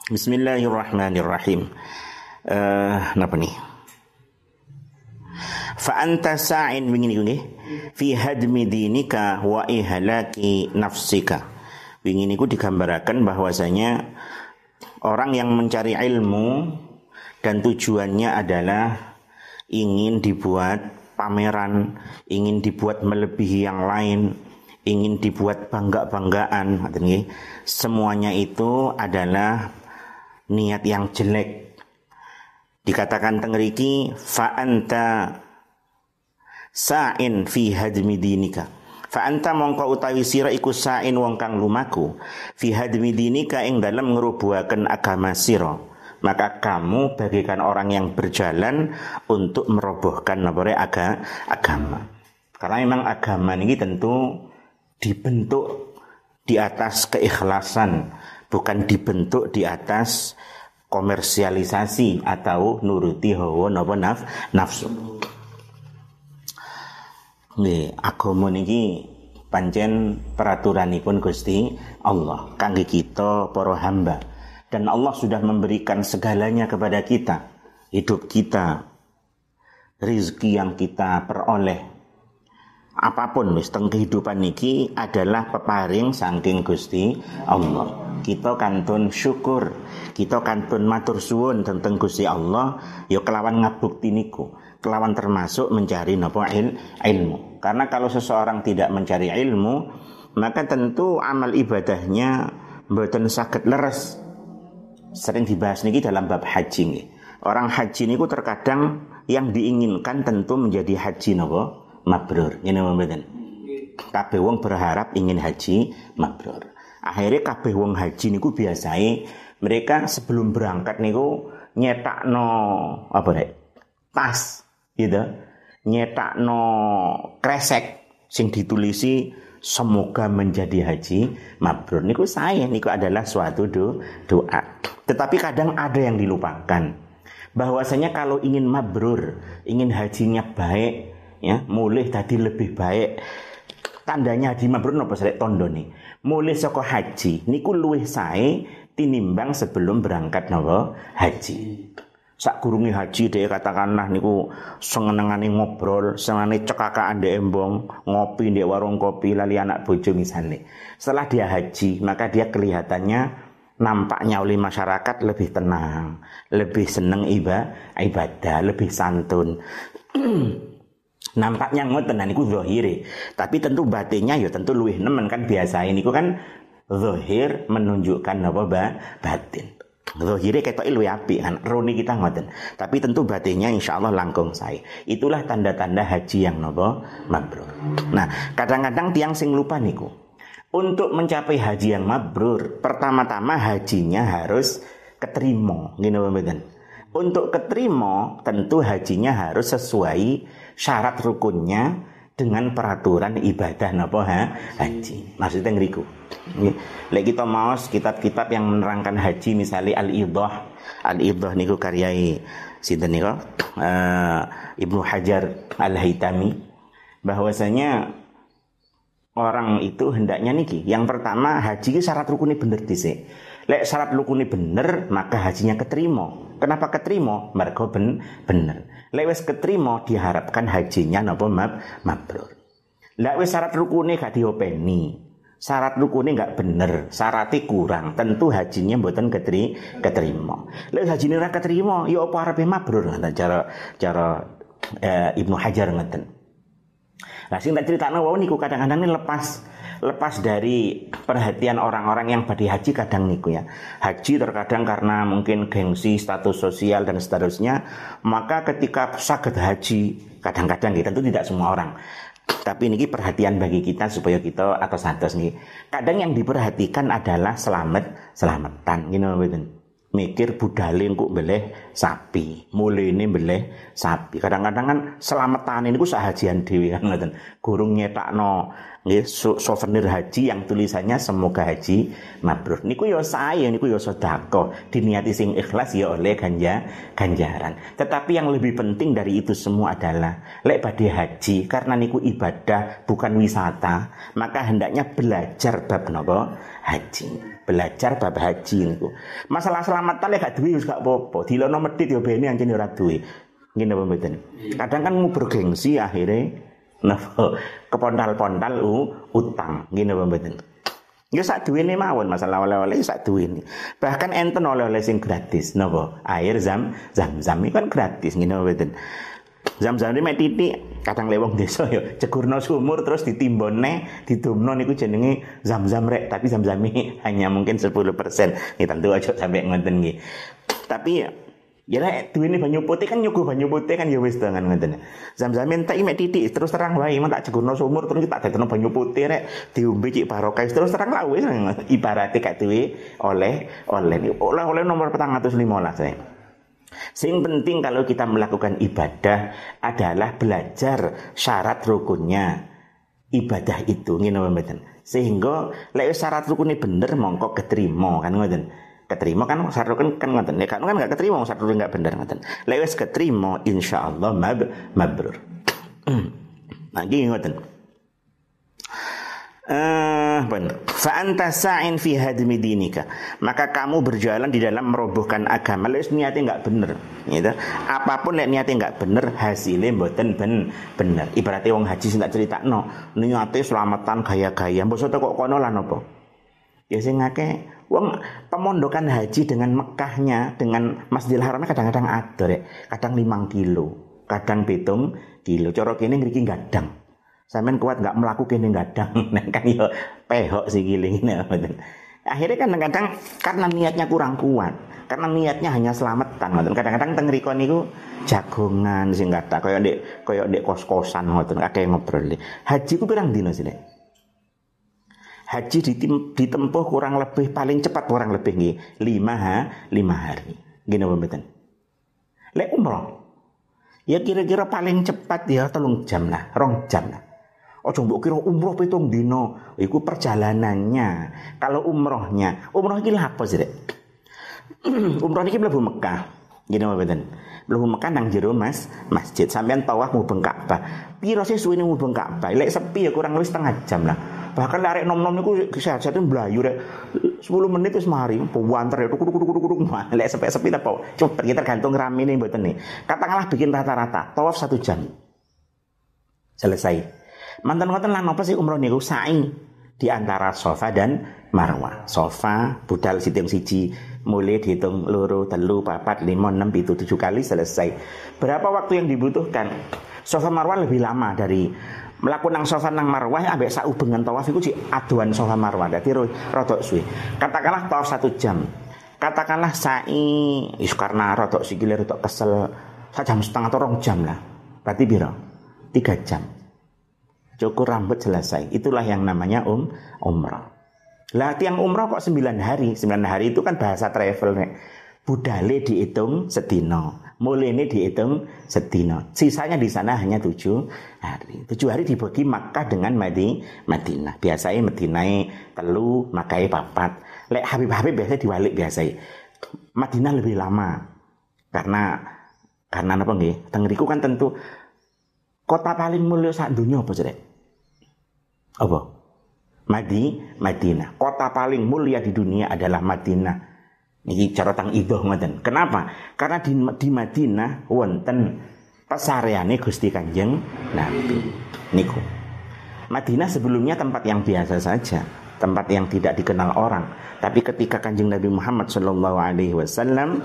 Bismillahirrahmanirrahim. Napa nih? Fa anta sa'in wingi niku nggih fi hadmi dinika wa ihlaki nafsika. Wingi niku digambaraken bahwasanya orang yang mencari ilmu dan tujuannya adalah ingin dibuat pameran, ingin dibuat melebihi yang lain, ingin dibuat bangga-banggaan, semuanya itu adalah niat yang jelek. Dikatakan tengriki fa anta sa'in fi hadmi dinika. Fa anta mongko utawi sira iku sa'in wong kang lumaku fi hadmi dinika ing dalem ngrubuhaken agama sira. Maka kamu bagaikan orang yang berjalan untuk merobohkan agama. Karena memang agama ini tentu dibentuk di atas keikhlasan, bukan dibentuk di atas komersialisasi atau nuruti hawa nafsu. Nggih, agama niki pancen peraturanipun Gusti Allah kangge kita para hamba. Dan Allah sudah memberikan segalanya kepada kita. Hidup kita, rezeki yang kita peroleh, apapun wis teng kehidupan niki adalah peparing saking Gusti Allah. Kita kantun syukur, kita kantun matur suwun tentang Gusti Allah, ya kelawan ngabukti niku, kelawan termasuk mencari napa ilmu. Karena kalau seseorang tidak mencari ilmu, maka tentu amal ibadahnya mboten saged leres. Sering dibahas niki dalam bab haji nih. Orang haji niku terkadang yang diinginkan tentu menjadi haji napa mabrur. Ngene mboten. Kabeh wong berharap ingin haji mabrur. Akhirnya kabeh wong haji niku biasae mereka sebelum berangkat niku nyetakno apa rek? Tas, gitu. Nyetakno kresek sing ditulisi semoga menjadi haji mabrur. Niku saya niku adalah suatu doa. Tetapi kadang ada yang dilupakan. Bahwasanya kalau ingin mabrur, ingin hajinya baik, ya, mulih tadi lebih baik. Tandanya haji mabrur napa srek tandane? Mulih saka haji niku luwih sae tinimbang sebelum berangkat napa haji. Sakgurunge haji dhek katakanlah niku senengane ngobrol, senengane cekakaan ndek embong, ngopi ndek warung kopi lali anak bojo misale. Setelah dia haji, maka dia kelihatannya nampaknya oleh masyarakat lebih tenang, lebih seneng ibadah, lebih santun. Nampaknya ngoten niku zahire, tapi tentu batinnya ya tentu luwih nemen kan biasa niku kan zahir menunjukkan apa batin. Zahire ketoke luwih apik kan, roni kita ngoten. Tapi tentu batinnya insyaallah langkung sae. Itulah tanda-tanda haji yang napa mabrur. Nah, kadang-kadang tiang sing lupa niku. Untuk mencapai haji yang mabrur, pertama-tama hajinya harus keterima, ngene mboten. Untuk keterima, tentu hajinya harus sesuai syarat rukunnya dengan peraturan ibadah napa haji. Maksudnya ngriku. Lek kita maos kitab-kitab yang menerangkan haji misalnya Al-Idah niku karyai sinten niku? Ibnu Hajar Al-Haytami, bahwasanya orang itu hendaknya niki. Yang pertama haji syarat rukunnya bener dhisik. Lek syarat rukunnya bener, maka hajinya keterima. Kenapa keterima? Mergo bener. Lek wis keterima diharapkan hajinya napa mabrur. Lek wis syarat rukunnya gak diopeni, syarat rukunnya gak bener, syaratnya kurang, tentu hajinya mboten keterima. Lek hajine ora keterima, ya apa arepe mabrur cara Ibnu Hajar ngeten. Nah, sing tak critakno wau niku kadang-kadang ini lepas dari perhatian orang-orang yang badhe haji kadang niku ya. Haji terkadang karena mungkin gengsi, status sosial dan seterusnya, maka ketika saged haji kadang-kadang tentu tidak semua orang. Tapi ini perhatian bagi kita supaya kita atos-atos nih. Kadang yang diperhatikan adalah selamatan ngene mboten. Mikir budale kok mbeleh sapi, mulene mbeleh sapi. Kadang-kadang kan selamatan niku sahajian dhewe kan ngoten. Gurung nyetakno Nggih, souvenir haji yang tulisannya semoga haji mabrur. Niku ya saya, niku ya sedekah. Diniati sing ikhlas ya oleh ganjaran. Tetapi yang lebih penting dari itu semua adalah lek badhe haji karena niku ibadah bukan wisata, maka hendaknya belajar bab napa? Haji. Belajar bab haji niku. Masalah selamatan lek gak duwe wis gak apa-apa. Dilono medhit ya bene anjen ora duwe. Ngene apa mboten? Kadang kan bergengsi akhirnya kepontal-pontal utang ngene apa mboten. Ya sak duwene mawon masalah oleh-oleh sak duwene. Bahkan enten oleh-oleh sing gratis napa? Air zam-zam iki kan gratis ngene apa mboten. Zam-zam iki mek titik kadang lewong desa ya jegurno sumur terus ditimbone didomno niku jenenge zam-zam rek, tapi zam-zam hanya mungkin 10%. Nggih tentu aja sampai ngoten nggih. Tapi ya lah duwene banyu putih kan nyuguh banyu putih kan ya wis dengan ngoten. Zam-zam entek mek titik terus terang wae men tak jegurno sumur terus tak dadekno banyu putih rek diombe cik barokah terus terang lah wis ibarate gak duwe oleh nomor 415 saya. Sing penting kalau kita melakukan ibadah adalah belajar syarat rukunnya ibadah itu ngene mboten. Sehingga lek syarat rukunnya bener mongko keterima kan ngoten. Keterima kan syarat rukun kan ngoten. Nek kan enggak keterima syarat rukun enggak bener ngoten. Lek wis keterima insyaallah mabrur. Lagi ngoten. Fa anta sa'in fi hadmi dinika, maka kamu berjalan di dalam merobohkan agama. Lek niate enggak bener gitu. Apapun lek niate enggak bener hasilnya mboten bener. Ibaratnya wong haji sing tak critakno, niate selamatan gaya-gaya mbok kok kono lan apa. Ya sing akeh wong pemondokan haji dengan Mekahnya dengan Masjidil Haramnya kadang-kadang ada rek. Kadang 5 kilo, kadang 7 kilo. Cara kene ngriki gadang. Sampeyan kuat enggak mlaku kene gadang. Nek kan yo pehok sikile ngene. Akhirnya kadang-kadang karena niatnya kurang kuat, karena niatnya hanya selamatan ngoten. Kadang-kadang teng mriku niku jagongan sing kathah kaya ndek kos-kosan ngoten akeh ngobrol. Haji ku pirang dina sih, Nek? Haji ditempuh kurang lebih paling cepat kurang lebih nggih 5 hari. Gini apa mboten? Lek umroh ya kira-kira paling cepat ya 3 jam lah, 2 jam lah. Ojo mbok kira umroh 7 dino, iku perjalanannya. Kalau umroh iki lha apa sih, Rek? Umroh iki mlebu Mekah. Gini apa mboten? Mlebu Mekah nang jero masjid. Sampeyan tawaf mubeng Ka'bah. Piro sih suwene mubeng Ka'bah? Lek sepi ya kurang lebih setengah jam lah. Bahkan arek nom-nom niku sehat-sehat mblayu rek 10 menit wis mari buanter ya kudu lek sepi-sepi ta po cepet kita tergantung ramene mboten nih. Katakanlah bikin rata-rata tawaf 1 jam. Selesai. Mantan ngoten lan apa sih umroh niku sa'i di antara Safa dan Marwah. Safa budal siting siji mulai dihitung 2, 3, 4, 5, 6, 7 kali selesai. Berapa waktu yang dibutuhkan? Safa Marwah lebih lama dari melakukan nang Safa nang Marwah ambek saubengan tawaf iku sik aduan Safa Marwah. Dadi rodok suwe. Katakanlah tawaf 1 jam. Katakanlah sa'i karena rodok sikile rodok kesel 1,5 jam atau 2 jam lah. Berarti piro? 3 jam. Cukur rambut selesai. Itulah yang namanya umrah. Lah tiang umrah kok 9 hari. 9 hari itu kan bahasa travel nek. Budale dihitung sedino, mulene dihitung sedino. Sisanya di sana hanya 7 hari. 7 hari dibagi Makkah dengan Madinah. Biasanya Madinah 3, Makkah 4. Lek Habib biasanya diwalik biasanya. Madinah lebih lama. Karena apa nggih? Teng mriku kan tentu kota paling mulia sak donya apa sih? Apa? Madinah. Kota paling mulia di dunia adalah Madinah. Niki cara tang idoh ngoten. Kenapa? Karena di Madinah wonten pasareane Gusti Kanjeng Nabi. Niku. Madinah sebelumnya tempat yang biasa saja, tempat yang tidak dikenal orang. Tapi ketika Kanjeng Nabi Muhammad sallallahu alaihi wasallam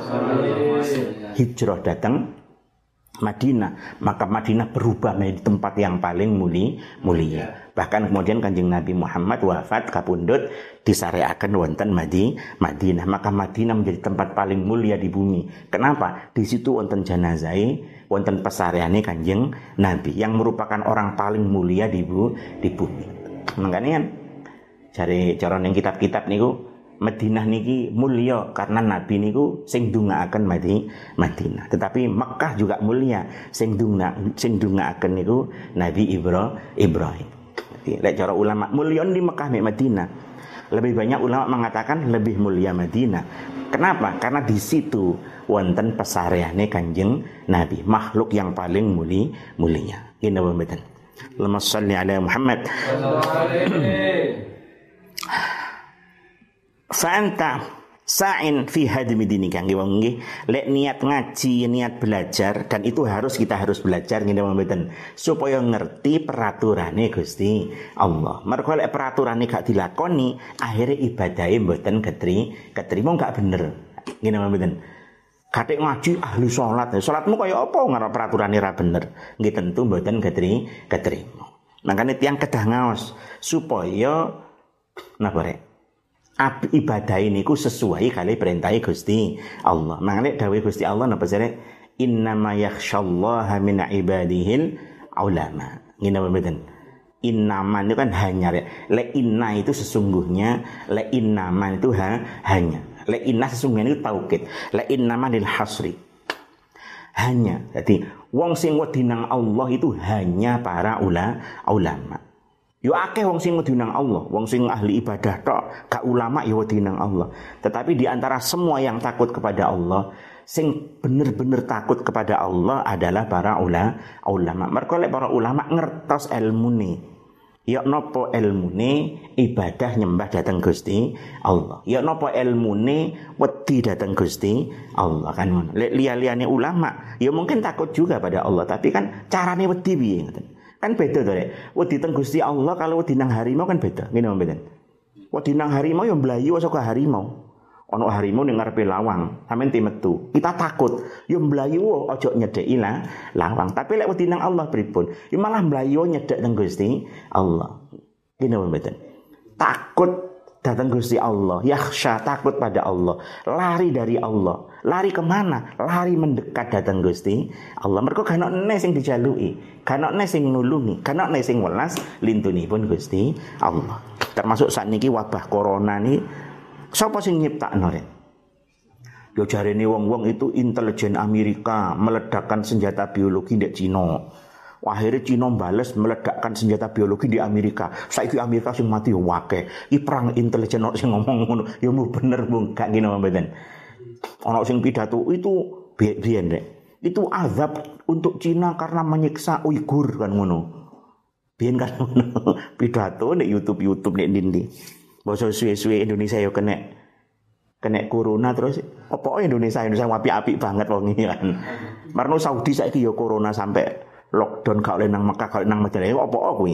hijrah datang Madinah, maka Madinah berubah menjadi tempat yang paling mulia. Bahkan kemudian Kanjeng Nabi Muhammad wafat kapundhut disareaken wonten Madinah, maka Madinah menjadi tempat paling mulia di bumi. Kenapa? Di situ wonten janazahe, wonten pesareane Kanjeng Nabi yang merupakan orang paling mulia di bumi. Makanya kan jare cara ning kitab-kitab niku Madinah niki mulia karena Nabi niku sing ndongaaken Madinah. Tetapi Mekah juga mulia sing ndongaaken niku Nabi Ibrahim. Lek cara ulama mulyon di Mekah mek Madinah. Lebih banyak ulama mengatakan lebih mulia Madinah. Kenapa? Karena di situ wonten pesareane Kanjeng Nabi, makhluk yang paling mulia. Ngene mboten. Allahumma shalli ala Muhammad. Fa'anta sa'in fi hadmi dinika nggih wong nggih lek niat ngaji niat belajar dan itu kita harus belajar ngene mboten supaya ngerti peraturane Gusti Allah. Mergo lek peraturane gak dilakoni akhire ibadahe mboten ketrima gak bener ngene mboten. Katik ngaji ahli salat salatmu kaya apa ngarep peraturane ra bener nggih tentu mboten ketrima. Makane tiyang kedah ngaos supaya napa rek ibadah ini ku sesuai kali perintah Gusti Allah. Mangane dawuh Gusti Allah napa sare innama yakhsyallaha min ibadihil ulama. Ngene mboten. Innama itu kan hanya le inna itu sesungguhnya le innama itu hanya. Le inna sesungguhnya itu taukid. Le innama lil hasri. Hanya. Jadi wong sing wedi nang Allah itu hanya para ulama. Yo akeh wong sing wedi nang Allah, wong sing ahli ibadah tok, gak ulama yo wedi nang Allah. Tetapi di antara semua yang takut kepada Allah, sing bener-bener takut kepada Allah adalah para ulama. Mergo lek para ulama ngertos ilmune. Ya napa ilmune ibadah nyembah dhateng Gusti Allah. Ya napa ilmune wedi dhateng Gusti Allah kan ngono. Lek liya-liyane ulama, ya mungkin takut juga pada Allah, tapi kan carane wedi piye ngoten. Kan beda to rek. Wedi teng Gusti Allah kalau wedi nang harimau kan beda. Ngene mboten. Wedi nang harimau yo mlayu saka harimau. Ana harimau ning ngarepe lawang, sampean metu. Kita takut, yo mlayu aja nyedeki lawang. Tapi lek wedi nang Allah pripun? Yo malah mlayu nyedek teng Gusti Allah. Ngene mboten. Takut datang Gusti Allah, yakhsha takut pada Allah, lari dari Allah. Lari kemana? Lari mendekat datang Gusti Allah. Mergo kan ana sing dijaluki, kan ana sing nulungi, kan ana sing welas lintunipun Gusti Allah. Termasuk sakniki wabah corona ni sapa sing nyiptakno rek? Yo jarene wong-wong itu intelijen Amerika meledakkan senjata biologi ndek Cina. Akhirnya Cina bales meledakkan senjata biologi di Amerika. Saiki Amerika sing mati yo akeh. Iki perang intelijen kok sing ngomong ngono. Ya mu bener Bung, gak ngene mboten. Ana sing pidato itu biyen rek. Itu azab untuk Cina karena menyiksa Uighur kan ngono. Biyen kan ngono. Pidato nek YouTube nek ndi. Basa suwe-suwe Indonesia yo kena corona terus apa Indonesia apik-apik banget wong iki kan. Marno Saudi saiki yo corona sampai lockdown gak oleh nang Mekah, gak oleh nang Madinah, apa kuwi?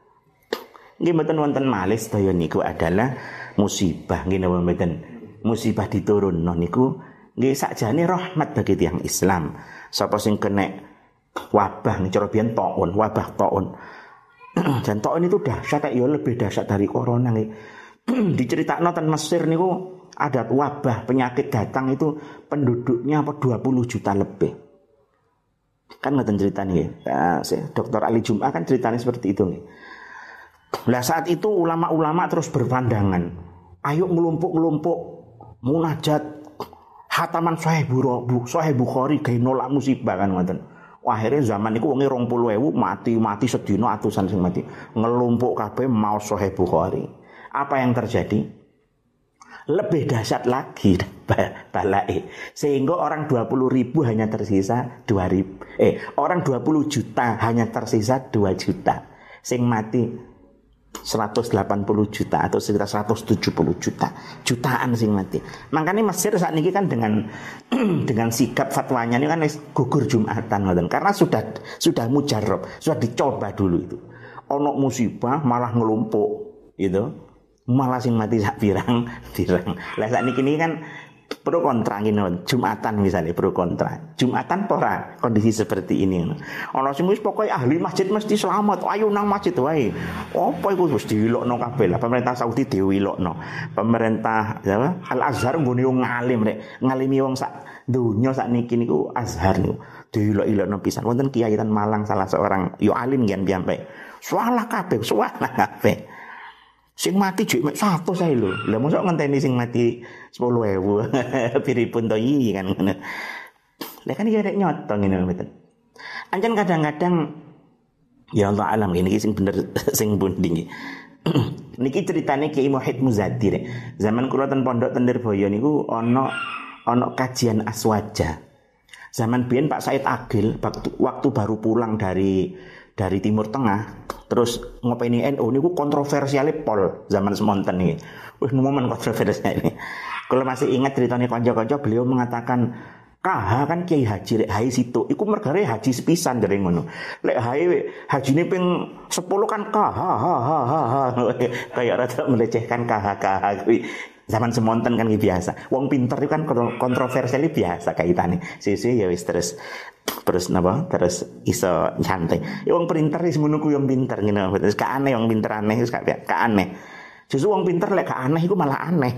Nggih mboten wonten malih sedaya niku adalah musibah nggih napa mboten. Musibah diturunno niku nggih sakjane rahmat bagi tiyang Islam. Sapa sing kena wabah cara biyen taun, wabah taun. Dan taun itu dahsyat ya lebih dahsyat dari corona nggih. Diceritakno ten Mesir niku ada wabah penyakit datang itu penduduknya 20 juta lebih. Kan ngoten ceritanya ya. Dr. Ali Jum'ah kan ceritanya seperti itu nih. Nah saat itu ulama-ulama terus berpandangan, ayo ngelumpuk munajat hataman Sahih Bukhari gawe nolak musibah kan ngoten. Akhirnya zaman itu wonge 20.000 mati sedina atusan sing mati. Ngelumpuk kabeh maos Sahih Bukhari. Apa yang terjadi? Lebih dahsyat lagi balai sehingga orang 20.000 hanya tersisa 2.000 orang 20 juta hanya tersisa 2 juta sing mati 180 juta atau sekitar 170 jutaan sing mati. Makanya Mesir saat ini kan dengan sikap fatwanya ini kan gugur Jumatan karena sudah mujarab, sudah dicoba dulu itu. Ono musibah malah ngelumpuk gitu. Malah sing mati sak pirang. Lah sakniki ini kan pro kontra ngene Jumatan misalnya pro kontra. Jumatan ora kondisi seperti ini. Ana sing wis pokoke ahli masjid mesti selamat. Ayo nang masjid wae. Apa iku wis diwilokno kabeh lah. Pemerintah Saudi diwilokno. Pemerintah Al Azhar nggone wong ngalim rek. Ngalimi wong sak donya sakniki niku Azhar niku. Diwilok-wilokno pisan. Wonten kiai ten Malang salah seorang yo alim ngen piyambake. Salah kabeh. Sing mati jek mek 100 ae lho. Lah mosok ngenteni sing mati 10.000. Piripun to iki kan ngono. Lah kan iki rek nyoto ngene mboten. Ancen kadang-kadang Ya Allah alam ini sing bener sing pundi. Niki ceritane Kiai Muhyiddin Muzadi rek. Zaman kula ten pondok ten Nirboyo niku ana kajian aswaja. Zaman biyen Pak Said Agil waktu baru pulang dari Timur Tengah terus ngopeni NU niku kontroversiale pol zaman semonten iki. Wis momen kontroversial ini. Kalau masih ingat ceritanya kanca-kanca beliau mengatakan KH kan Kiai Haji lek haji situ iku mergare haji sepisan dari ngono. Lek hajine ping 10 kan KH kayak rada melecehkan KH kuwi. Zaman semonten kan biasa. Wong pinter itu kan kontroversial biasa kaitane. Sisi ya wis terus napa? Terus iso nyantai. Ya wong pinter wis ngono kuwi wong pinter ngene. Terus gak aneh wong pinter aneh wis gak aneh. Justru wong pinter lek gak aneh iku malah aneh.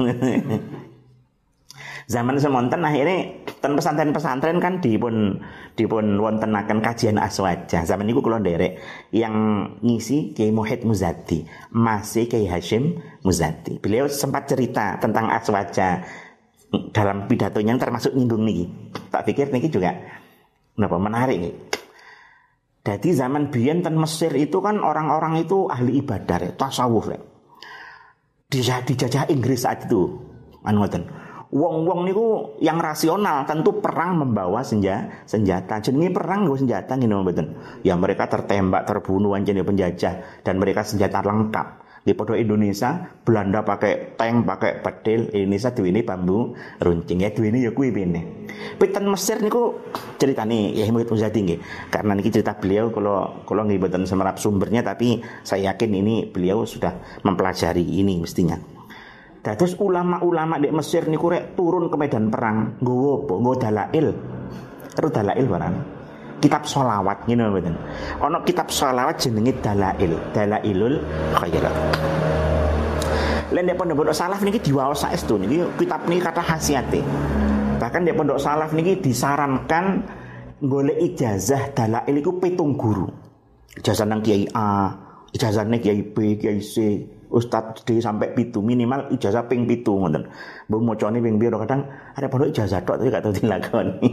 Zaman semonten akhirnya ten pesantren-pesantren kan dipun wontenaken kajian aswaja. Zaman niku kula nderek yang ngisi Kiai Muhyiddin Muzadi, masih Kiai Hashim Muzadi. Beliau sempat cerita tentang aswaja dalam pidatonya termasuk nyinggung niki. Tak pikir niki juga menarik nih. Jadi zaman biyen ten Mesir itu kan orang-orang itu ahli ibadah, tasawuf. Dijajah Inggris saat itu. Ngoten. Wong-wong niku yang rasional tentu perang membawa senjata. Jenenge perang nggo senjata ngene mboten. Ya mereka tertembak, terbunuh anjene penjajah dan mereka senjata lengkap. Di podo Indonesia, Belanda pakai tank, pakai pedil, Indonesia duwene bambu runcing. Ya duwene ya kuwi pene. Piten Mesir niku ceritane ya Muhyiddin Muzadi nggih. Karena niki cerita beliau kalau nggih mboten semerap sumbernya tapi saya yakin ini beliau sudah mempelajari ini mestinya. Terus ulama-ulama di Mesir niku rek turun ke medan perang nggowo apa? Nggo dalail. Terus dalail barang. Kitab sholawat ngene mboten. Ana kitab sholawat jenenge Dalail, Dalailul Khairat. Lan nek pondok salaf niki diwaos saestu niki kitab niki kata khasiate. Bahkan di pondok salaf niki disarankan golek ijazah dalail iku 7 guru. Ijazah nang Kiai A, ijazah nang Kiai B, Kiai C. Ustadz D sampai 7 minimal ijazah ping 7 ngoten. Mbok mocone ping piro kadang ada pondok ijazah tok tapi gak tau dilakoni.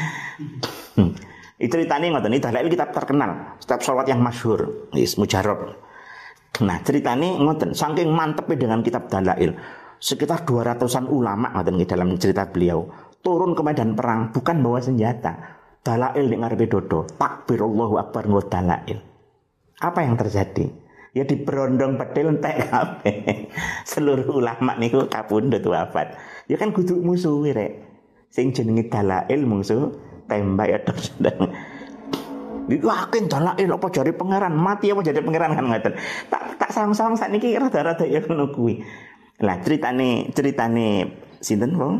Itu ceritane ngoten, iki dalail kitab terkenal, kitab sholawat yang masyhur, wis mujarrab. Nah, ceritane ngoten, saking mantepnya dengan kitab dalail, sekitar 200-an ulama ngoten di dalam cerita beliau turun ke medan perang bukan bawa senjata. Dalail ning ngarepe dodo, takbir Allahu akbar nggo dalail. Apa yang terjadi? Ya diberondong pedil entek kabeh. Seluruh ulama niku kapundhut wafat. Ya kan kudu musuhi rek. Sing jenenge dalail mungsuh tembak ya terus. Iku yakin dalail apa jare pangeran, mati apa jare pangeran kan ngoten. Tak sawang-sawang sakniki rada-rada ya ngono kuwi. Lah ceritane sinten wong?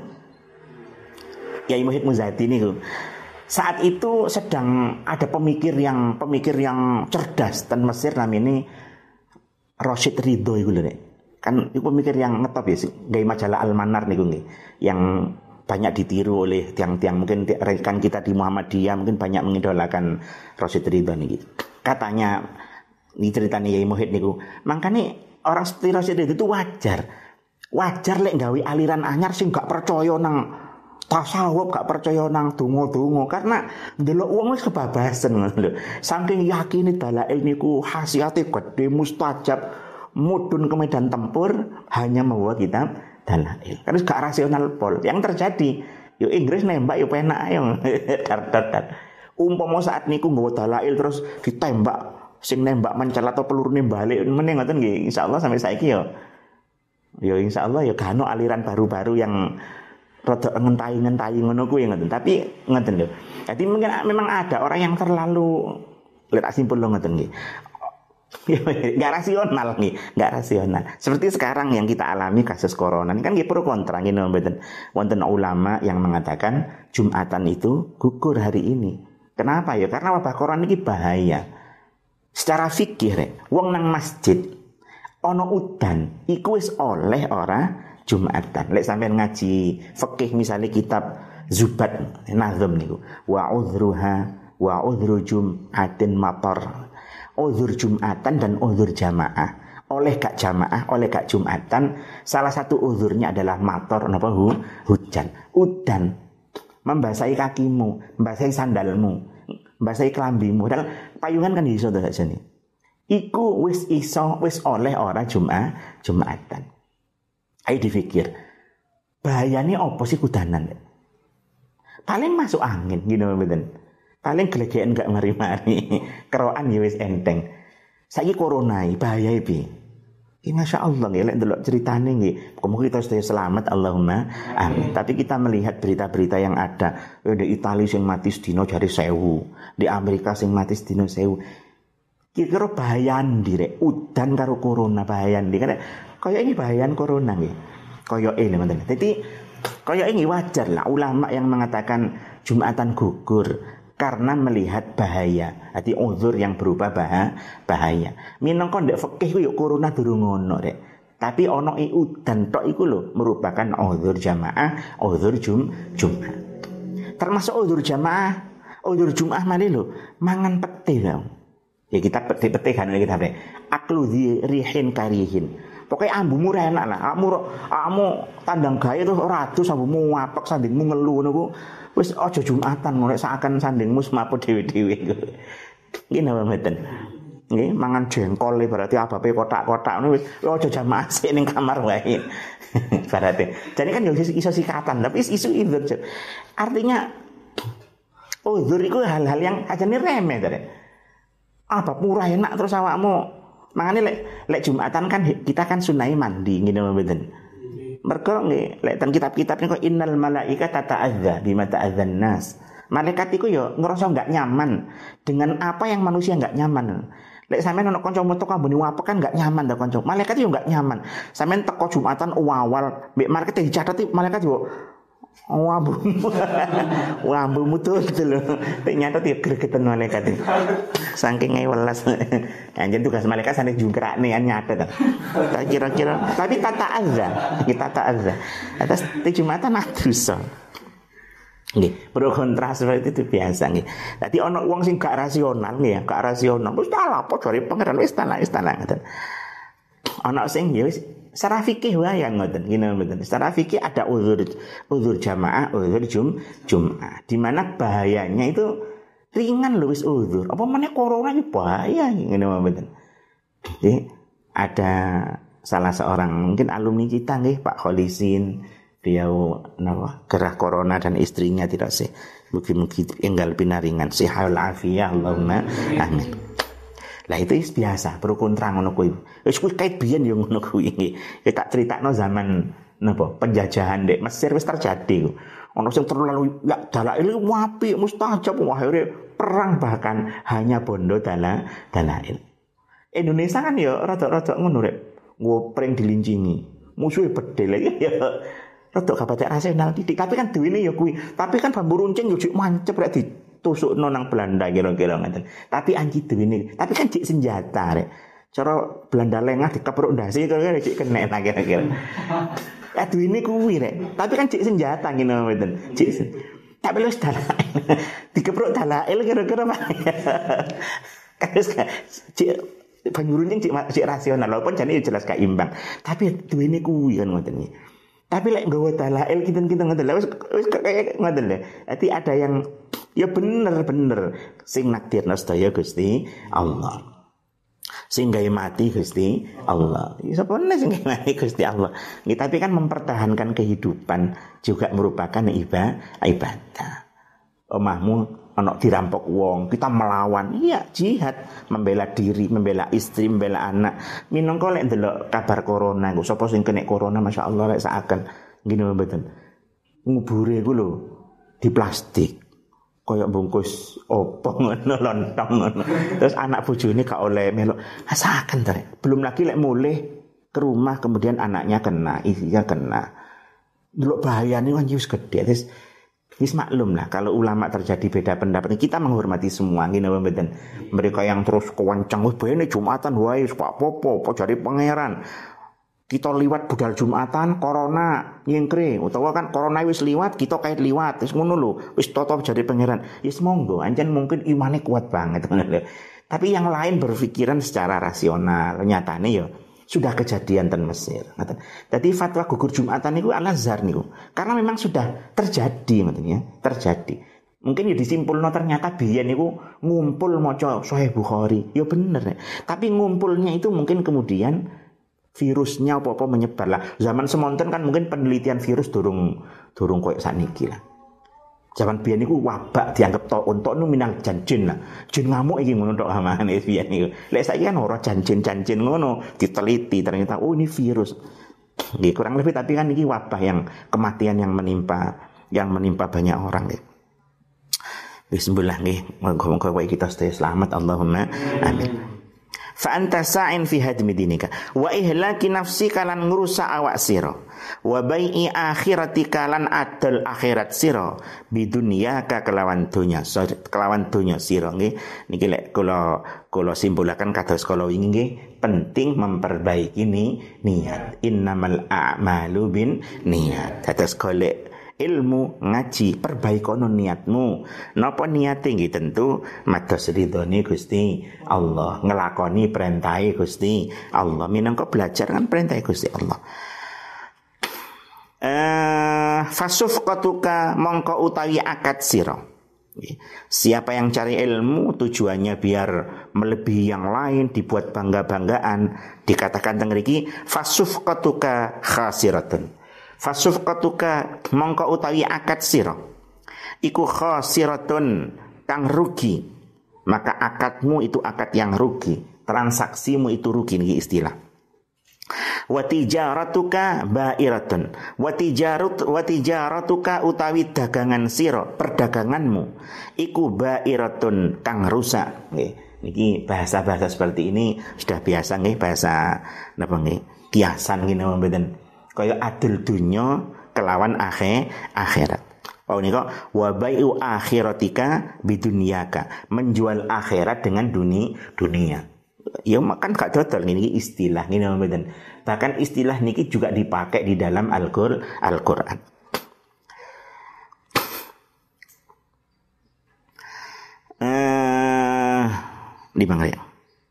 Kiai Muhyiddin Muzadi niku. Saat itu sedang ada pemikir yang cerdas dan Mesir namanya Rashid Ridho iku lho Nek. Kan iku pemikir yang ngetop ya sih. Gawe majalah Al-Manar niku nggih. Yang banyak ditiru oleh tiang-tiang mungkin rekan kita di Muhammadiyah mungkin banyak mengidolakan Rashid Ridho niki. Katanya ini ceritanya Kiai Muhyiddin niku. Makanya orang seperti Rashid Ridho itu wajar. Wajar lek gawe aliran anyar sing gak percaya nang tasawuf, gak percaya nang donga-donga karena ndelok wong wis kebabasan ngono lho. Saking yakine dalail niku khasiate gede mustajab mudhun ke medan tempur hanya membawa kitab dalail. Kan gak rasional pol. Yang terjadi yo Inggris nembak yo penak ayo. Dar. Umpama saat niku nggawa dalail terus ditembak sing nembak mencal atau pelurune balik meneh ngoten nggih insyaallah sampai saiki yo insyaallah ya gak ono aliran baru-baru yang rada ngentai ngono kuwi ngoten. Tapi ngoten lho. Jadi mungkin memang ada orang yang terlalu lihat simpul lho ngoten nggih. Enggak rasional nih, enggak rasional. Seperti sekarang yang kita alami kasus corona ini kan nggih pro kontra ngene mboten. Wonten ulama yang mengatakan Jumatan itu gugur hari ini. Kenapa ya? Karena wabah corona ini bahaya. Secara fikih wong nang masjid ana udan iku wis oleh ora Jumatan. Lek sampean ngaji fikih misalnya kitab Zubat Nazm niku wa udhru Jum'atin matar. Uzur Jumatan dan uzur jamaah. Oleh gak jamaah, oleh gak Jumatan, salah satu uzurnya adalah matar napa hujan. Udan membasahi kakimu, membasahi sandalmu, membasahi kelambimu. Dan payungan kan iso to sakjane. iku wis oleh ora Jumatan. Ayo dipikir, bahayane apa sih kudanan? Paling masuk angin, gitu mboten. Paling gelegean gak mari-mari, keroan ya wis enteng. Saiki corona bahaya piye? Masya Allah nggih, lek ndelok ceritane nggih, muga kita sedaya selamat Allahumma amin. Tapi kita melihat berita-berita yang ada, di Italia sing mati sedina jare 1000, di Amerika sing mati sedina 1000. Kira-kira bahayan direk udan karo corona bahayan di kan kaya ini bahayan corona nggih. Kaya ini ngoten. Dadi kaya ini wajar lah ulama yang mengatakan Jumatan gugur karena melihat bahaya. Hati uzur yang berupa bahaya. Minangka ndek fikih ku yo corona durung ono rek. Tapi ono udan tok iku lho merupakan uzur jamaah, uzur Jumat. Termasuk uzur jamaah, uzur Jumat mali lho mangan pete lho. Ya kita pete kan kita rek. Aklu rihin karihin. Pokoknya ambumu enak lah. Kamu tandang gaya tuh ratus ambumu ngapek sandingmu ngelu niku. Wis aja Jumatan ngorek seakan sandingmu semapo dhewe-dhewe. Nggih napa mboten? Nggih, mangan jengkol berarti abape kotak-kotak ngono wis aja jamaah sik ning kamar wae. Berarti. Jadi kan yo iso sikatan, tapi isu uzur. Artinya uzur itu hal-hal yang ajane remeh to. Apa murah enak terus awakmu mangane lek Jumatan kan kita kan sunai mandi ngene mboten. Mergo nggih lek ten kitab-kitab niku innal malaikata ta'adza bima ta'adzan nas. Malaikat iku yo ngerasa enggak nyaman dengan apa yang manusia enggak nyaman. Lek sampean ono kanca metu kambune wapek kan enggak nyaman ta kanca. Malaikat yo enggak nyaman. Sampean teko Jumatan awal mbek market dicatet malaikat yo wambu tuh lho. Ternyata dia gregetan malaikat. Saking ngewelas. Anjen tugas malaikat sane jungkrakne nyatet. Kira-kira tapi tata azza. Atas Jumatan adusa. Nggih, pro kontra seperti itu biasa nggih. Dadi ana wong sing gak rasional nggih ya, gak rasional. Wis salah apa jare pangeran wis tanah ngoten. Ana sing ya wis secara fikih wae ngoten ngene mboten. Secara fikih ada uzur jamaah, uzur Jumat. Di mana bahayanya itu ringan lho wis uzur. Apa meneh corona iki bahaya ngene mboten. Jadi ada salah seorang mungkin alumni kita nggih Pak Kholisin, beliau gerah corona dan istrinya tidak sih. Mungkin enggal pinaringan sihal afiyah Allahumma amin. Lah itu biasa, pro kontra ngono kuwi. Wis kuwi kait biyen yo ngono kuwi. Ya tak critakno zaman napa penjajahan ndek Mesir wis terjadi. Ono sing terlalu ya dalail apik mustajab akhirnya perang bahkan hanya bondo dalail. Indonesia kan ya rada-rada ngono rek. Ngopreng dilincingi. Musuhe bedel ya. Rada gak baca rasional titik, tapi kan duwene ya kuwi. Tapi kan bambu runcing yo mancep rek ditusukno nang Belanda kira-kira ngoten. Tapi anji duwene, tapi kan cek senjata rek. Cara Belanda lengah dikepruk ndase kira-kira cek kena ta kira-kira. Ya duwene kuwi rek. Tapi kan cek senjata ngene ngoten. Cek tak belus dalail. Dikepruk dalail kira-kira Pak. Terus cek bambu runcing cek rasional walaupun jane jelas gak imbang. Tapi duwene kuwi kan ngoten iki. Tapi lek nggawa dalail kinten-kinten ngoten lho wis kaya ngoten lho. Dadi ada yang ya bener sing nakdirna sedaya Gusti Allah. Sing gawe mati Gusti Allah. Ya sapa meneh sing gawe mati Gusti Allah. Nggih, tapi kan mempertahankan kehidupan juga merupakan ibadah. Omahmu ana dirampok wong, kita melawan. Iya, jihad, membela diri, membela istri, membela anak. Minangka lek ndelok kabar corona, sapa sing kena corona masyaallah lek saken ngene mboten. Ngubure iku lho di plastik. Kayak bungkus opo ngono lontong ngono. Terus anak bojone gak oleh melok. Saken ta. Belum lagi lek mulih ke rumah kemudian anaknya kena, istrinya kena. Ndelok bahayane kan wis gedhe. Terus wis maklum lah kalau ulama terjadi beda pendapat kita menghormati semua ngene mboten. Mereka yang terus kewancang wis bayane Jumatan wae wis apa-apa jare pangeran. Kita liwat budal Jumatan corona nyengkre utawa kan corona wis liwat kita kait liwat wis ngono lho wis toto jare pangeran. Yes monggo ancen mungkin imane kuat banget ngono lho. Tapi yang lain berpikiran secara rasional. Nyatane ya sudah kejadian ten Mesir. Jadi fatwa gugur Jumatan niku Al-Azhar niku. Karena memang sudah terjadi maksudnya, terjadi. Mungkin ya disimpulno ternyata biyen niku ngumpul maca Sahih Bukhari. Ya bener. Tapi ngumpulnya itu mungkin kemudian virusnya apa-apa menyebar lah. Zaman semonten kan mungkin penelitian virus durung koyo sakniki lah. Zaman biyen niku wabak dianggap taun nu minang janjin lah. Jin ngamuk iki ngono tok amane biyen niku. Lek saiki kan ora janjin ngono, diteliti ternyata oh ini virus. Nggih kurang lebih tapi kan iki wabah yang kematian yang menimpa banyak orang nggih. Bismillah nggih, moga-moga kita stay selamat Allahumma amin. Fa anta sa'in fi hadmi dinika wa ihlaki nafsika lan ngrusak awak sira wa bai'i akhiratika lan adol akhirat sira bidunyaka kelawan donya sira nggih. Niki lek kula simpulaken kados kala wingi nggih, penting memperbaiki niat. Innamal a'malu bin niat. Dados golek ilmu ngaji perbaikono niatmu. Napa niate nggih tentu mados ridhone Gusti Allah, ngelakoni perintahe Gusti Allah. Minangka belajar kan perintahe Gusti Allah. Fasufqatuka mongko utawi akad sira. Siapa yang cari ilmu tujuannya biar melebihi yang lain, dibuat bangga-banggaan, dikatakan teng mriki fasufqatuka khasiratun. Fasufqatuka mongko utawi akad sira iku khasiratun kang rugi. Maka akadmu itu akad yang rugi, transaksimu itu rugi. Niki istilah. Wa tijaratuka ba'iratun. Wa tijaratuka utawi dagangan sira, perdaganganmu iku ba'iratun kang rusak. Nggih. Niki bahasa-bahasa seperti ini sudah biasa nggih, bahasa napa nggih? Kiasan ngene mboten. Kaya adil dunya kelawan akhirat. Oh nika wa bai'u akhiratika bidunyaka, menjual akhirat dengan dunia. Ya makan gak dodol niki istilah ngene mboten. Bahkan istilah niki juga dipakai di dalam Al-Qur'an. Di mana ya?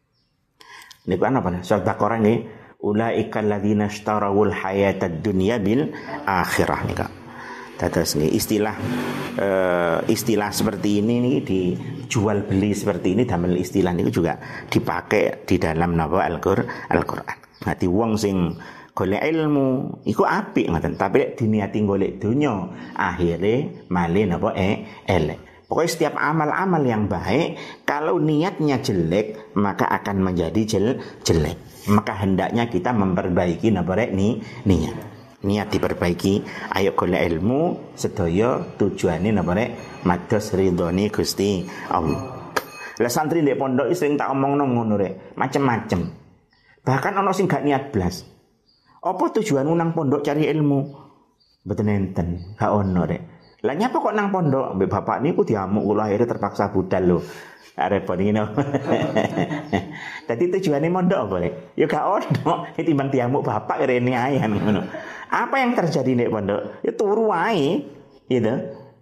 Niku apa nih? Surat Baqarah nggih. Ulaikal ladzina ishtarawul hayatad dunya bil akhirah nika. Dados nggih istilah seperti ini nih dijual beli seperti ini damel istilah niku juga dipakai di dalam napa Al-Qur'an. Nanti wong sing golek ilmu iku apik ngoten, tapi lek diniati golek donya akhire male napa elek. Pokoknya setiap amal-amal yang baik kalau niatnya jelek maka akan menjadi jelek. Maka hendaknya kita memperbaiki niat. Niat diperbaiki. Ayo golek ilmu sedaya tujuane napa rek mados ridhone Gusti Allah. Lah santri ndek pondok sing tak omongno ngono rek, macem-macem. Bahkan ana sing gak niat blas. Apa tujuanmu nang pondok cari ilmu? Mboten enten, gak ono rek. Lah nyapa kok nang pondok? Mbek bapak niku diamuk kula akhirnya terpaksa budal lho. Repot ngene. Dadi tujuane mondok apa rek? Ya gak ono, timbang diamuk bapak rene ae ngono. Apa yang terjadi nek pondok? Ya turu ae, gitu.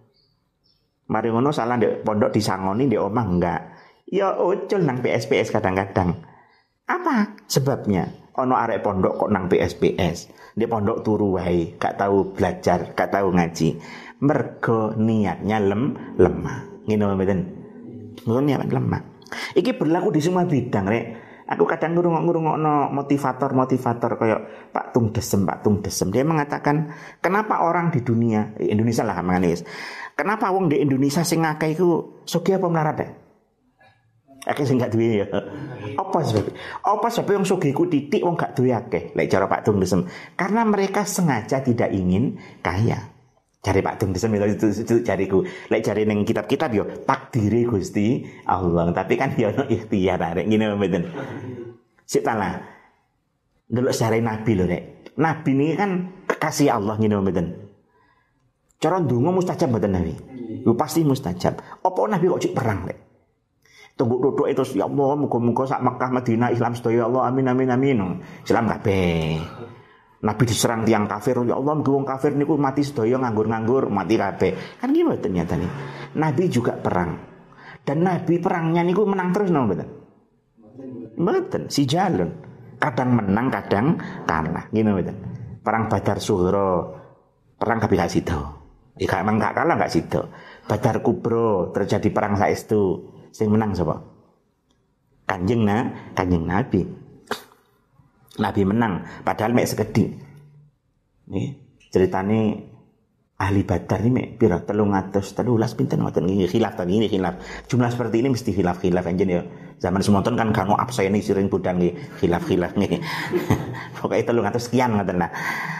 Mari ngono salah ndek pondok disangoni ndek omah enggak. Ya ucul nang PSPS kadang-kadang. Apa sebabnya? Ono arek pondok kok nang PSPS. Ndek pondok turu wae, gak tahu belajar, gak tahu ngaji. Mergo niatnya lemah. Ngene mboten. Niat lemah. Iki berlaku di semua bidang, rek. Aku kadang ngurungokno motivator kayak Pak Tung Desem. Dia mengatakan, kenapa orang di dunia Indonesia lah manganis. Kenapa wong di Indonesia sing akeh iku sugih apa melarat ya? Akeh sing gak duwe ya. Apa sebab yang sugih iku titik wong gak duwe akeh. Lek cara Pak Tung Desem, karena mereka sengaja tidak ingin kaya. Cari Pak Tung Desem itu cariku. Lek cari ning kitab-kitab yo takdire Gusti Allah. Tapi kan yo ono ikhtiar arek ngene mboten. Sik talah. Delok sare Nabi lho rek. Nabi niki kan kekasih Allah ngene mboten. Cara ndonga mustajab mboten Nabi? Yo pasti mustajab. Apa Nabi kok cik perang rek? Tunggu duduk itu ya Allah muga-muga sak Mekah Madinah Islam sedaya Allah amin. Islam kabeh. Nabi diserang tiang kafir, ya Allah wong kafir niku mati sedaya nganggur-nganggur, mati kabeh. Kan gitu ternyata nih. Nabi juga perang. Dan Nabi perangnya niku menang terus napa mboten? Mboten, si jalun. Kadang menang, kadang kalah. Ngene mboten. Perang Badar Sughra, perang kabeh gak sida. Gak kalah gak sida. Badar Kubro terjadi perang saestu. Sing menang sapa? Kanjeng Nabi. Nabi menang padahal mek sekedhik. Nggih, ceritane ahli Badar ini mek pira 313 pinten ngoten nggih khilaf tadi ini khilaf. Jumlah seperti ini mesti khilaf anjen ya. Zaman semonten kan kanu abseni siring budang nggih khilaf nggih. Pokoke 300 sekian ngoten lah.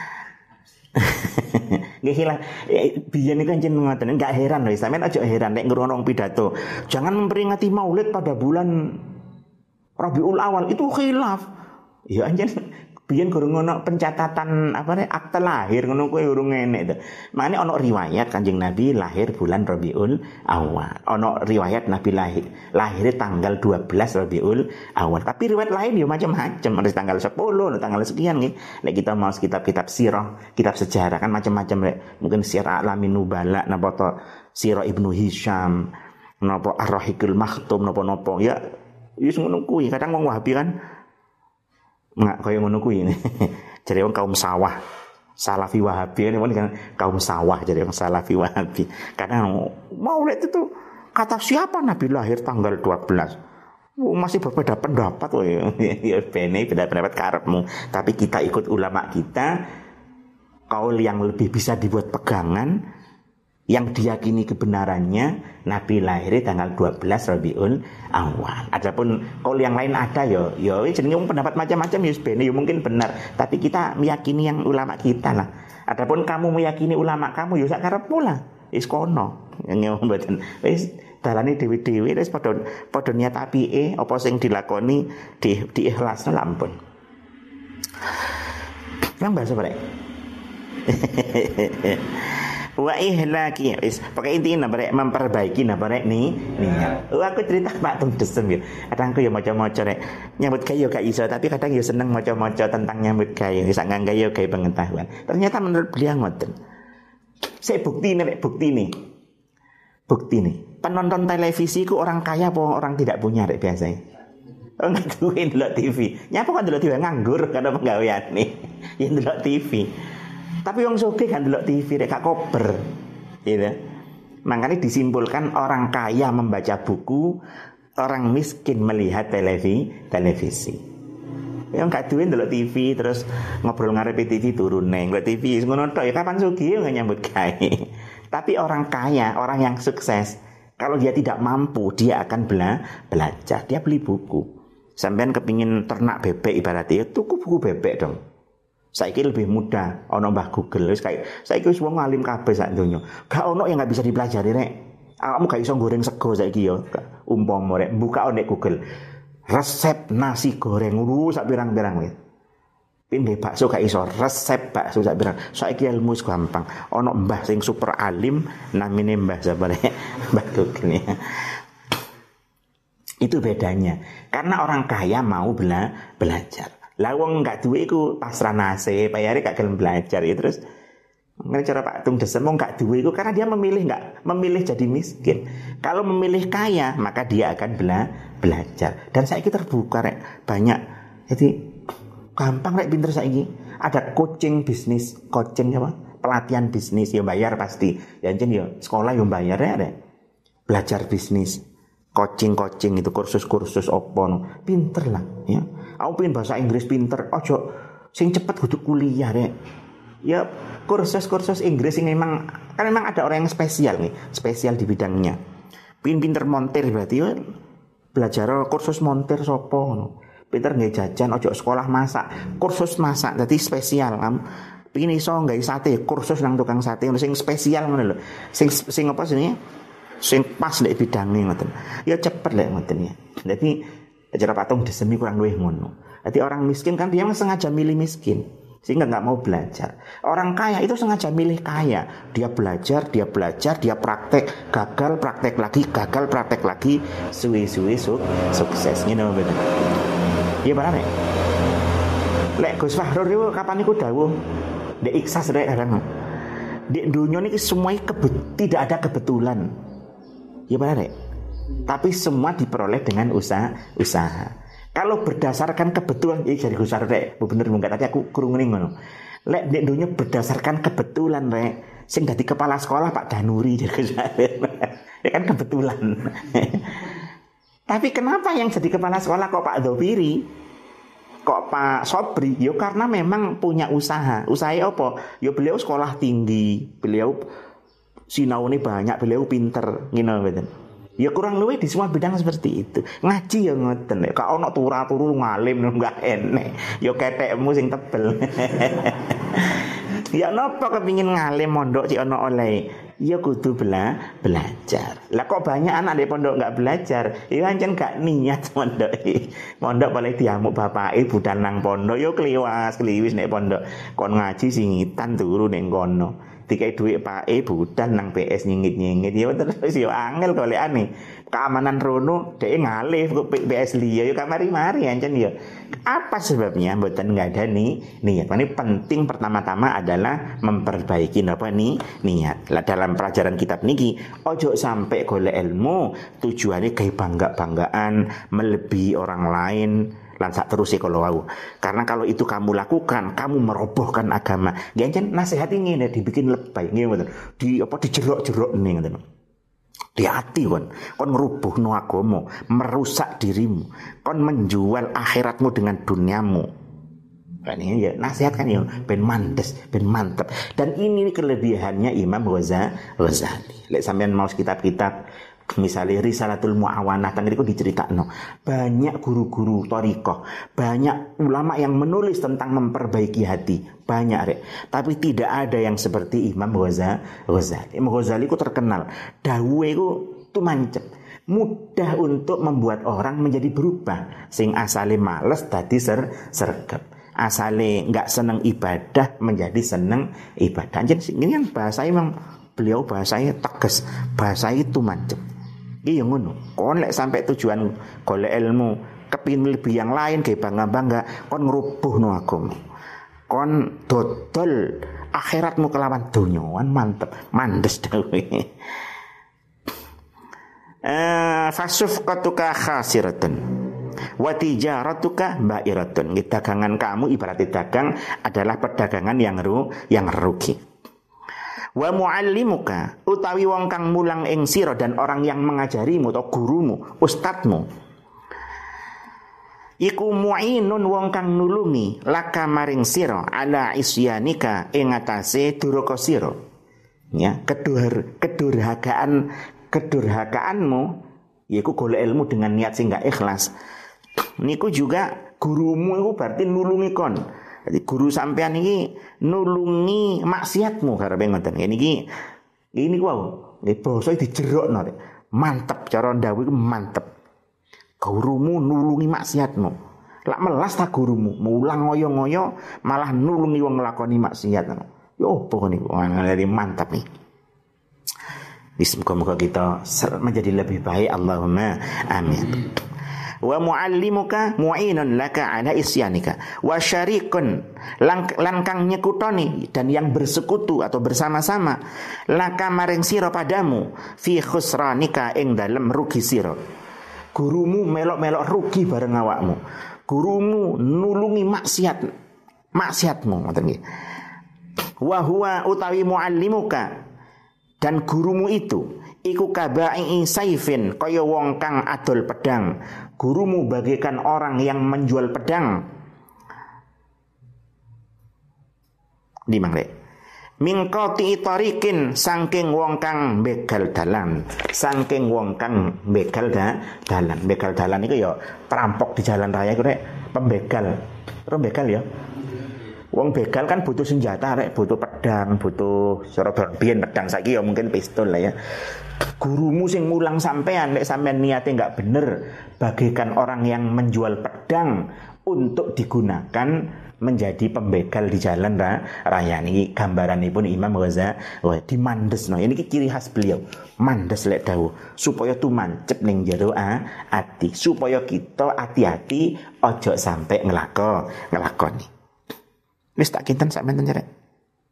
Nggih khilaf. Biyen niku anjen ngoten enggak heran lho sampean aja heran nek ngrungokno pidato. Jangan memperingati Maulid pada bulan Rabiul Awal itu khilaf. Ya anjen biyen gurung ono pencatatan akte lahir ngono kuwi urung enek to. Makane ono riwayat Kanjeng Nabi lahir bulan Rabiul Awal. Ono riwayat Nabi lahir tanggal 12 Rabiul Awal. Tapi riwayat lain ya macam-macam. Ada tanggal 10, tanggal sekian nggih. Nek kita mau kitab-kitab sirah, kitab sejarah kan macam-macam rek. Mungkin Sirah Alamin Nubala napa to Sirah Ibnu Hisham, napa Ar-Rahiqul Maktum napa-napa. Ya wis ngono kuwi. Kadang wong Wahabi kan nggak kaya ngono kuwi ini. Jadi orang kaum sawah, Salafi Wahabi ini kan kaum sawah, jadi orang Salafi Wahabi. Kadang Maulid itu kata siapa Nabi lahir tanggal 12? Masih berbeda pendapat ya bene beda pendapat karepmu. Tapi kita ikut ulama kita, kaul yang lebih bisa dibuat pegangan, yang diyakini kebenarannya Nabi lahir tanggal 12 Rabiul Awal. Adapun kalau yang lain ada ya jenenge pendapat macam-macam ya sebenarnya ya mungkin benar, tapi kita meyakini yang ulama kita lah. Adapun kamu meyakini ulama kamu ya sak karepmu lah. Wis kono. Yang mboten wis dalane dewe-dewe wis padha niat apike apa sing dilakoni diikhlasno lampun. Nang bahasa apa rek? Wa ihlaki wis pokoke intine barek memperbaiki barek niat. Aku cerita Pak Tung Desem ya. Kadang aku ya maca-maca rek nyambut gawe gak iso, tapi kadang ya seneng maca-maca tentang nyambut gawe, wis nganggo ya gawe pengetahuan. Ternyata menurut beliau ngoten. Saya buktine penonton televisi ku orang kaya apa orang tidak punya rek biasanya. Orang duwe ndelok TV. Nyapa kok ndelok TV nganggur karena penggawean nih. Ya ndelok TV. Tapi wong sugih kan ndelok TV rek gak kober. Gitu. Makanya disimpulkan orang kaya membaca buku, orang miskin melihat televisi. Yang gak duwe ndelok TV terus ngobrol ngarepe TV turun neng ndelok TV ngono tok ya kapan sugih nggak nyambut gawe. Tapi orang kaya, orang yang sukses, kalau dia tidak mampu dia akan belajar, dia beli buku. Sampean kepingin ternak bebek ibaratnya tuku buku bebek dong. Saiki lebih mudah, ono Mbah Google wis kayak saiki wis wong alim kabeh sak donya. Gak ono yang enggak bisa dipelajari rek. Awakmu gak iso goreng sego saiki ya. Umpama rek buka nek Google. Resep nasi goreng sak pirang-pirang wis. Pindhe bakso gak iso, resep bakso sak pirang. Saiki ilmu gampang. Ono mbah sing super alim namine Mbah sapa rek? Mbah Google ya. Itu bedanya. Karena orang kaya mau belajar. Lah wong gak duwe iku pasrah nasib, bayare gak gelem belajar ya terus ngene cara Pak Tung Desem wong gak duwe iku karena dia memilih jadi miskin. Kalau memilih kaya, maka dia akan belajar. Dan saiki terbuka rek, banyak. Jadi gampang rek pinter saiki. Ada coaching bisnis, pelatihan bisnis ya bayar pasti. Ya jen ya sekolah yo bayar rek. Belajar bisnis. Coaching itu kursus opo pinter lah ya. Aku pengen bahasa Inggris pinter, ojo sing cepet kudu kuliah rek. Ya kursus Inggris yang memang ada orang yang spesial di bidangnya. Pengen pinter montir berarti ya belajar kursus montir sopo. Pinter nggak jajan, ojo sekolah masak, kursus masak, jadi spesial kamu. Pengen iso nggak sate, kursus nang tukang sate, sing spesial ngono lho. Sing apa sini? Sing pas lek bidangnya ngoten. Ya cepet lek ngoten ya. Jadi cara Pak Tung Desem kurang luwih ngono. Jadi orang miskin kan dia sengaja milih miskin sehingga enggak mau belajar. Orang kaya itu sengaja milih kaya. Dia belajar, dia praktek, gagal praktek lagi, suwi-suwi sukses ngene bener. Iya bener. Lek Gus Fahrur itu kapan iku dawuh? Dek ikhlas rek arang. Di dunia ini semuanya tidak ada kebetulan. Ya benar. Tapi semua diperoleh dengan usaha. Kalau berdasarkan kebetulan, jadi Gus Fahrur rek, bener enggak tadi aku krungu ngono. Lek nek dunya berdasarkan kebetulan rek, Sing dadi kepala sekolah Pak Danuri ya kan kebetulan. Tapi kenapa yang jadi kepala sekolah kok Pak Dhofiri, kok Pak Sobri? Yo karena memang punya usaha. Usahanya apa? Yo beliau sekolah tinggi, beliau sinaune banyak, beliau pinter, ngene mboten. Ya kurang luwih di semua bidang seperti itu. Ngaji ya ngoten. Kok ana turu ngalim enggak enek. Yo ketekmu sing tebel. Ya napa kepingin ngalim mondok cik ana oleh? Ya kudu belajar. Lah kok banyak anak di pondok enggak belajar? Ya pancen gak niat mondok. Mondok paling diamuk bapake budal nang pondok yo kliwis nek pondok. Kon ngaji singitan turu ning kono. Dikai duit pake budal nang PS nyengit-nyengit ya terus yo angel golekane. Keamanan rono dhek ngalih kok PS liya yo kamari-mari ancen yo. Apa sebabnya? Mboten ngadani niat. Ini penting pertama-tama adalah memperbaiki napa niat. Lah dalam pelajaran kitab niki ojo sampai golek ilmu tujuannya kayak bangga-banggaan melebihi orang lain lan sak terus kalau wau. Karena kalau itu kamu lakukan, kamu merobohkan agama. Nggih nasihat ngene dibikin lebay nggih mboten. Dijerok-jerok ning ngoten. Di hati kon ngerubuhno agama, merusak dirimu, kon menjual akhiratmu dengan duniamu. Kan ini ya nasihat kan ya ben mandes, ben mantep. Dan ini kelebihannya Imam Ghazali. Lek sampean mau kitab-kitab misalnya Risalatul Mu'awanah tang niku diceritakno banyak guru-guru thariqah, banyak ulama yang menulis tentang memperbaiki hati, banyak rek. Tapi tidak ada yang seperti Imam Ghazali. Imam Ghazali ku terkenal dawuhe ku tumancep, mudah untuk membuat orang menjadi berubah. Sing asale males dadi sergap, asale enggak seneng ibadah menjadi seneng ibadah. Jadi ini kan bahasa memang beliau bahasanya tegas, bahasa itu mancep. Iya ngono. Kon lek sampai tujuan golek ilmu, kepin lebih yang lain kayak bangga-bangga, kon ngrubuhno agama. Kon dodol akhiratmu kelawan donyoan mantep, mandes dhewe. Fasufqatuka khasiratun wa tijaratuka ba'iratun. Dagangan kamu ibarat dagang adalah perdagangan yang rugi. Wa muallimuka utawi wong kang mulang ing sira dan orang yang mengajarimu atau gurumu, ustadmu, iku mu'inun wong kang nulungi laka maring sira ala isyanika ing atase duraka sira. Ya, kedurhakaanmu yaiku golek ilmu dengan niat sing gak ikhlas. Niku juga gurumu iku berarti nulungi kon. Jadi guru sampean ini nulungi maksiatmu karepe ngoten. Ini wow, nggih basa dijerokno. Mantep cara ndawuh iku mantep. Gurumu nulungi maksiatmu. Lak melas ta gurumu, mulang ngoyo-ngoyo malah nulungi wong nglakoni maksiat. Ya opo niku? Ngene mantap nih. Bismillah kita menjadi lebih baik, Allahumma amin. Wa muallimuka mu'inun laka ala isyanika wa syarikun lan kang nyekutoni dan yang bersekutu atau bersama-sama laka maring sira padamu fi khusranika ing dalem rugi sira. Gurumu melok-melok rugi bareng awakmu, gurumu nulungi maksiatmu ngoten nggih. Wa huwa utawi muallimuka dan gurumu itu iku kaba'i saifin kaya wong kang adol pedang. Gurumu bagaikan orang yang menjual pedang. Di mangke. Min qati tariqin saking wong kang begal dalan. Saking wong kang begal dalan. Begal dalan iku ya perampok di jalan raya iku rek, pembegal. Terus begal ya. Wong begal kan butuh senjata rek, butuh pedang, butuh biyen pedang, saiki ya mungkin pistol lah ya. Gurumu sing mulang sampean nek sampean niate enggak bener, bagaikan orang yang menjual pedang untuk digunakan menjadi pembegal di jalan raya. Niki gambaranipun Imam Ghazali dimandesno. Ini ciri khas beliau. Mandes lek dawuh supaya tumancep ning jero ati, supaya kita hati-hati ojo sampai ngelakoni. Wis tak kinten sampean cerek.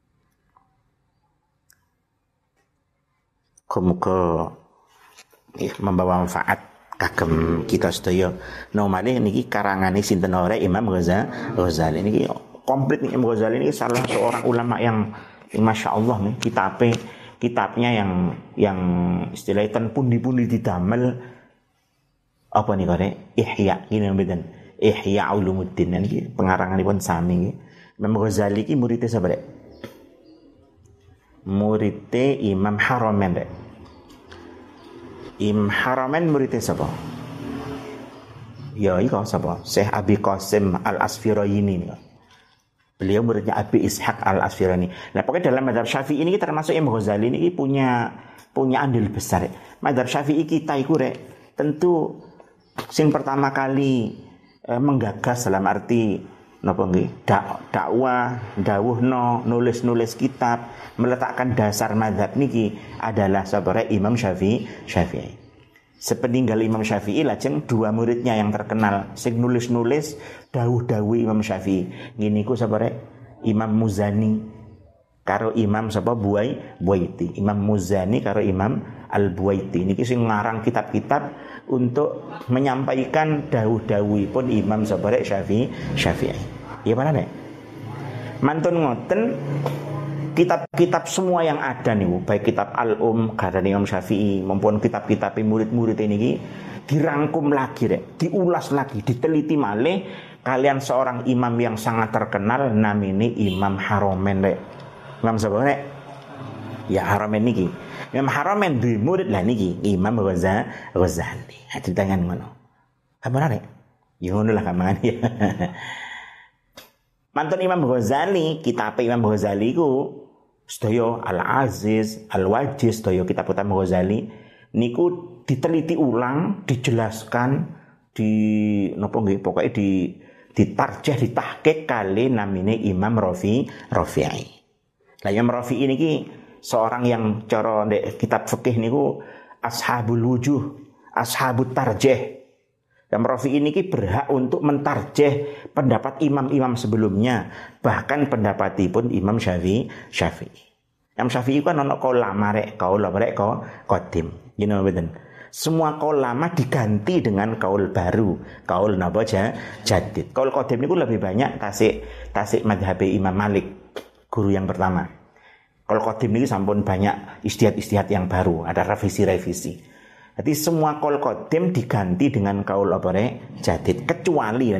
Muga membawa manfaat kagem kita sedaya. Nomale niki karangane sinten ora Imam Ghazali. Niki komplit nih Imam Ghazali ini salah seorang ulama yang Masya Allah nih kitabnya yang istilahnya ten pundi-pundi didamel apa nih kore Ihya ini mboten Ihya Ulumuddin niki pengaranganipun sami nggih. Imam Ghazali iki muridé sapa rek? Muridé Imam Haramain rek. Imam Haramain muridé sapa? Ya iko sapa? Syekh Abi Qasim Al-Asfirayini nih. Beliau muridnya Abi Ishaq Al-Asfirani. Nah, pokoknya dalam mazhab Syafi'i ini termasuk Imam Ghazali ini punya andil besar. Mazhab Syafi'i kita iku rek, tentu sing pertama kali menggagas dalam arti napa nggih? Dakwah, dawuhno, nulis kitab, meletakkan dasar mazhab niki adalah sabare Imam Syafi'i. Sepeninggal Imam Syafi'i lajeng dua muridnya yang terkenal sing nulis dawuh-dawuh Imam Syafi'i. Ngene iku sapa rek? Imam Muzani karo Imam sapa Buaiti. Imam Muzani karo Imam Al-Buaiti niki sing ngarang kitab-kitab untuk menyampaikan dawuh-dawuhipun Imam sapa rek Syafi'i. Ya mana rek? Mantun ngoten kitab-kitab semua yang ada nih, baik kitab karena Imam Syafi'i maupun kitab-kitab murid-murid ini dirangkum lagi diulas lagi, diteliti malih kalian seorang imam yang sangat terkenal namanya Imam Haramain rek. Imam sapa rek? Ya Haramain niki. Imam Haramain duwe murid lah niki Imam Ghazali. Hati tangan ngono. Apa rek? Ya ngono lah kamane ya. Mantun Imam Ghazali, kitab Imam Ghazali ku sedaya Al-Aziz, Al-Wajiz, sedaya kitab Imam Ghazali niku diteliti ulang, dijelaskan, pokoknya ditarjih, ditahqiq kali namine Imam Rafi'i. Lah Imam Rafi'i niki seorang yang cara ndek kitab fikih niku ashabul wujuh, ashabut tarjih. Imam Rafi'i ini berhak untuk mentarjih pendapat imam-imam sebelumnya, bahkan pendapatipun Imam Syafi'i. Imam Syafi'i kan ono kaul lama rek, kaul qadim. You know betul. Semua kaul lama diganti dengan kaul baru, kaul napa jadid. Kaul qadim niku lebih banyak tasik madhab Imam Malik, guru yang pertama. Kaul qadim niku sampun banyak istihad yang baru, ada revisi. Jadi semua kaul qadim diganti dengan kaul jadid, kecuali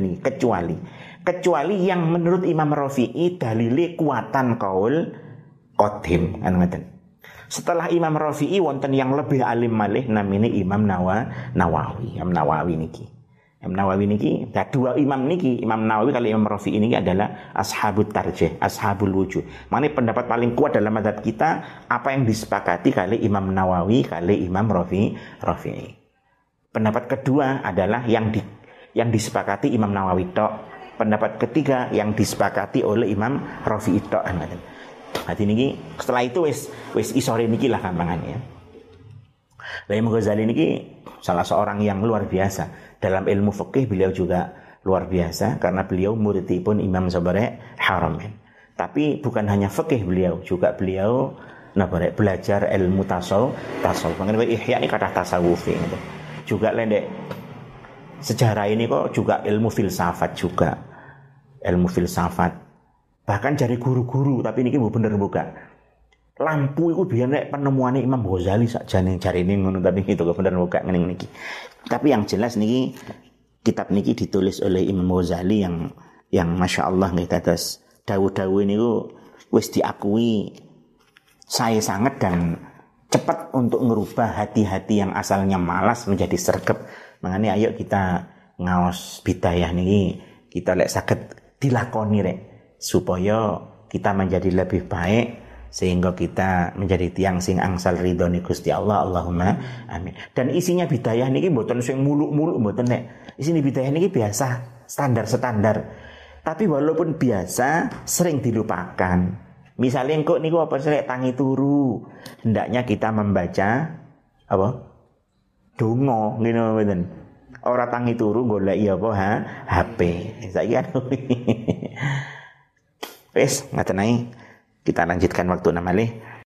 yang menurut Imam Rafi'i dalile kuatan kaul qadim kan ngoten. Setelah Imam Rafi'i wonten yang lebih alim malih namine Imam Nawawi. Imam Nawawi niki dua imam niki, Imam Nawawi kali Imam Rafi'i niki adalah ashabut tarjih, ashabul wujuh. Maknanya pendapat paling kuat dalam mazhab kita apa yang disepakati kali Imam Nawawi kali Imam Rafi'i. Pendapat kedua adalah yang disepakati Imam Nawawi tok. Pendapat ketiga yang disepakati oleh Imam Rafi'i tok. Hati niki setelah itu wis isore niki lah kampangannya. Lah Imam Ghazali niki salah seorang yang luar biasa. Dalam ilmu fikih beliau juga luar biasa karena beliau muridipun Imam Haramain. Tapi bukan hanya fikih beliau belajar ilmu tasawuf. Mengenai Ihya ini kata tasawuf gitu. Juga lendek sejarah ini kok juga ilmu filsafat juga. Ilmu filsafat. Bahkan dari guru-guru tapi ini bener buka. Lampu itu biar penemuannya Imam Ghazali sakjane cari ini ngono tapi itu bener buka ngene niki. Tapi yang jelas niki kitab niki ditulis oleh Imam Ghazali yang Masya Allah nggih dados dawuh-dawuh niku wis diakui saya sangat dan cepat untuk merubah hati-hati yang asalnya malas menjadi sregep. Makanya ayo kita ngaos bidayah niki kita lek saged dilakoni rek supaya kita menjadi lebih baik sehingga kita menjadi tiang sing angsal ridhone Gusti Allah. Allahumma amin. Dan isinya bidayah niki mboten sing muluk-muluk mboten nek. Isine bidayah niki biasa, standar. Tapi walaupun biasa sering dilupakan. Misalnya engko niku apa sih tangi turu, hendaknya kita membaca apa? Donga ngene mboten. Ora tangi turu goleki apa HP. Saiki kan. Wes ngaten ae. Kita lanjutkan waktu malih.